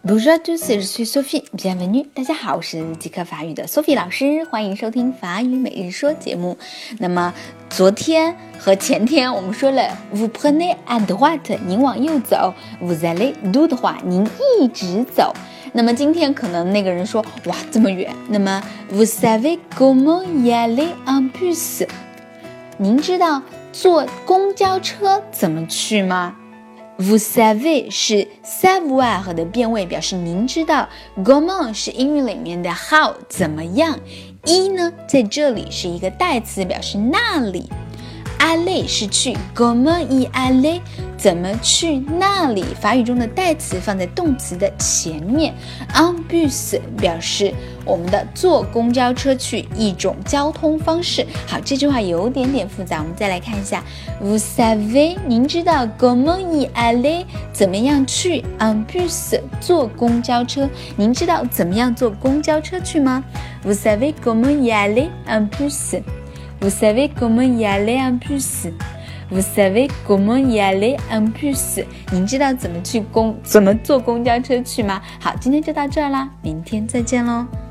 Bonjour à tous, je suis Sophie, bienvenue. 大家好，我是即刻法语的 Sophie 老师，欢迎收听法语每日说节目。那么昨天和前天我们说了 Vous prenez à droite， 您往右走 Vous allez tout droit， 您一直走。那么今天可能那个人说哇这么远，那么 Vous savez comment y aller en bus， 您知道坐公交车怎么去吗？Vous savez 是 savoir 的变位，表示您知道。Comment 是英语里面的 how 怎么样。一呢，在这里是一个代词，表示那里。aller 是去 comment y aller 怎么去那里，法语中的代词放在动词的前面。en bus 表示我们的坐公交车去，一种交通方式。好，这句话有点点复杂，我们再来看一下。Vous savez 您知道 comment y aller 怎么样去 en bus 坐公交车，您知道怎么样坐公交车去吗？ Vous savez comment y aller en bus Vous savez comment y aller en bus Vous savez comment y aller en bus 您知道怎么坐公交车去吗？好，今天就到这儿啦，明天再见咯。